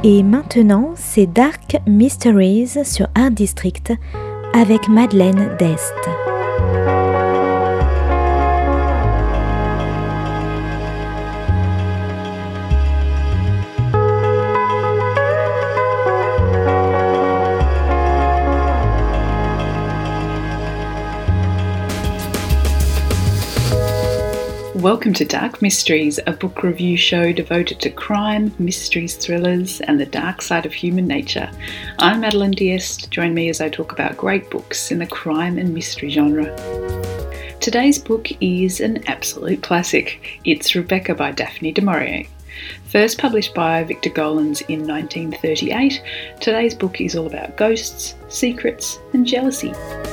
Et maintenant, c'est Dark Mysteries sur Art District avec Madeleine Dest. Welcome to Dark Mysteries, a book review show devoted to crime, mysteries, thrillers, and the dark side of human nature. I'm Madeleine Diest. Join me as I talk about great books in the crime and mystery genre. Today's book is an absolute classic. It's Rebecca by Daphne du Maurier. First published by Victor Gollancz in 1938, today's book is all about ghosts, secrets, and jealousy.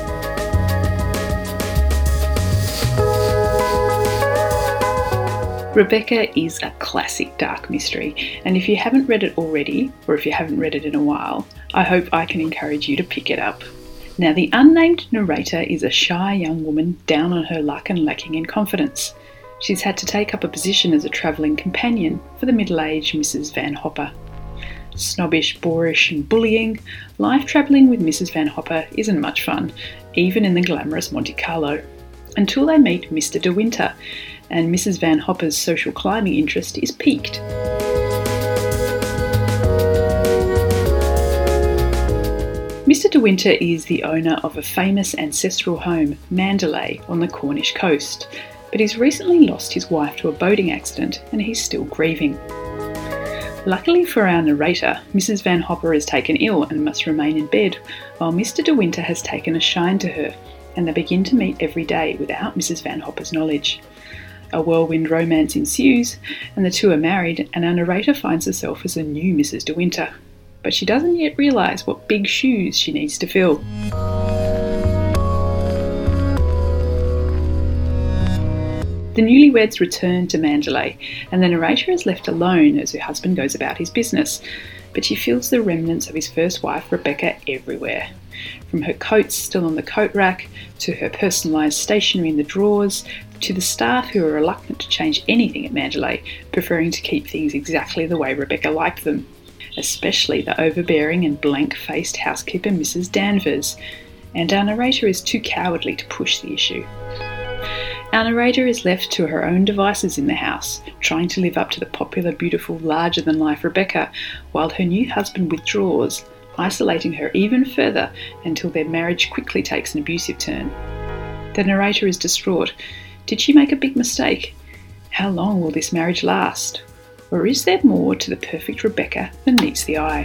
Rebecca is a classic dark mystery, and if you haven't read it already, or if you haven't read it in a while, I hope I can encourage you to pick it up. Now, the unnamed narrator is a shy young woman down on her luck and lacking in confidence. She's had to take up a position as a travelling companion for the middle-aged Mrs. Van Hopper. Snobbish, boorish and bullying, life travelling with Mrs. Van Hopper isn't much fun, even in the glamorous Monte Carlo. Until they meet Mr. De Winter, and Mrs. Van Hopper's social climbing interest is piqued. Mr. De Winter is the owner of a famous ancestral home, Mandalay, on the Cornish coast, but he's recently lost his wife to a boating accident and he's still grieving. Luckily for our narrator, Mrs. Van Hopper is taken ill and must remain in bed, while Mr. De Winter has taken a shine to her, and they begin to meet every day without Mrs. Van Hopper's knowledge. A whirlwind romance ensues, and the two are married, and our narrator finds herself as a new Mrs. De Winter. But she doesn't yet realise what big shoes she needs to fill. The newlyweds return to Mandalay, and the narrator is left alone as her husband goes about his business. But she feels the remnants of his first wife, Rebecca, everywhere. From her coats still on the coat rack, to her personalised stationery in the drawers, to the staff who are reluctant to change anything at Mandalay, preferring to keep things exactly the way Rebecca liked them. Especially the overbearing and blank-faced housekeeper Mrs. Danvers. And our narrator is too cowardly to push the issue. Our narrator is left to her own devices in the house, trying to live up to the popular, beautiful, larger-than-life Rebecca, while her new husband withdraws, isolating her even further until their marriage quickly takes an abusive turn. The narrator is distraught. Did she make a big mistake? How long will this marriage last? Or is there more to the perfect Rebecca than meets the eye?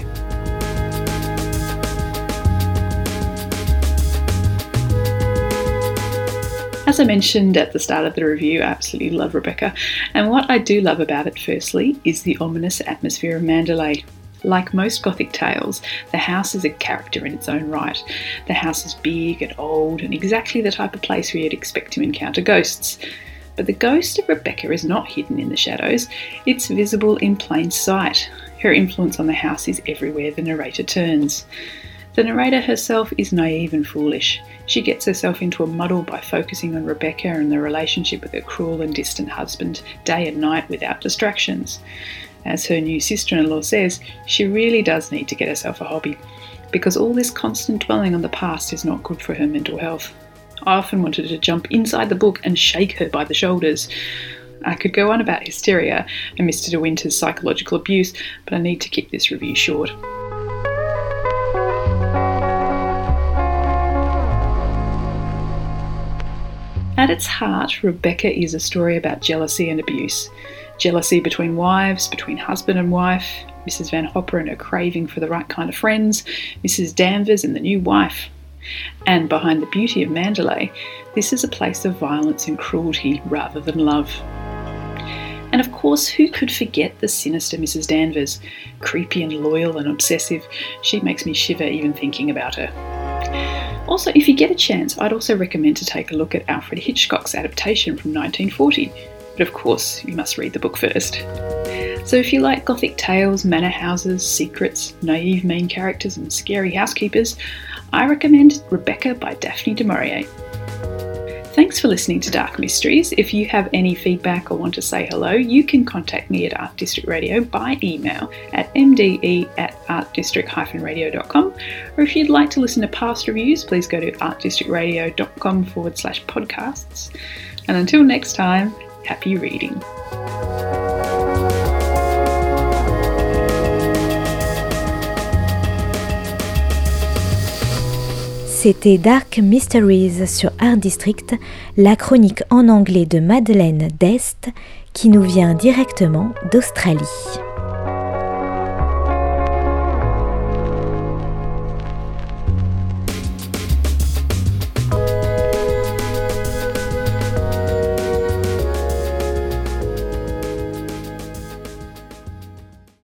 As I mentioned at the start of the review, I absolutely love Rebecca, and what I do love about it firstly is the ominous atmosphere of Mandalay. Like most Gothic tales, the house is a character in its own right. The house is big and old and exactly the type of place where you'd expect to encounter ghosts. But the ghost of Rebecca is not hidden in the shadows, it's visible in plain sight. Her influence on the house is everywhere the narrator turns. The narrator herself is naive and foolish. She gets herself into a muddle by focusing on Rebecca and the relationship with her cruel and distant husband, day and night without distractions. As her new sister-in-law says, she really does need to get herself a hobby, because all this constant dwelling on the past is not good for her mental health. I often wanted to jump inside the book and shake her by the shoulders. I could go on about hysteria and Mr. De Winter's psychological abuse, but I need to keep this review short. At its heart, Rebecca is a story about jealousy and abuse. Jealousy between wives, between husband and wife, Mrs. Van Hopper and her craving for the right kind of friends, Mrs. Danvers and the new wife. And behind the beauty of Mandalay, this is a place of violence and cruelty rather than love. And of course, who could forget the sinister Mrs. Danvers? Creepy and loyal and obsessive, she makes me shiver even thinking about her. Also, if you get a chance, I'd also recommend to take a look at Alfred Hitchcock's adaptation from 1940. But of course, you must read the book first. So if you like Gothic tales, manor houses, secrets, naive main characters and scary housekeepers, I recommend Rebecca by Daphne du Maurier. Thanks for listening to Dark Mysteries. If you have any feedback or want to say hello, you can contact me at Art District Radio by email at mde@artdistrict-radio.com, or if you'd like to listen to past reviews, please go to artdistrictradio.com/podcasts. And until next time, happy reading. C'était Dark Mysteries sur Art District, la chronique en anglais de Madeleine Dest qui nous vient directement d'Australie.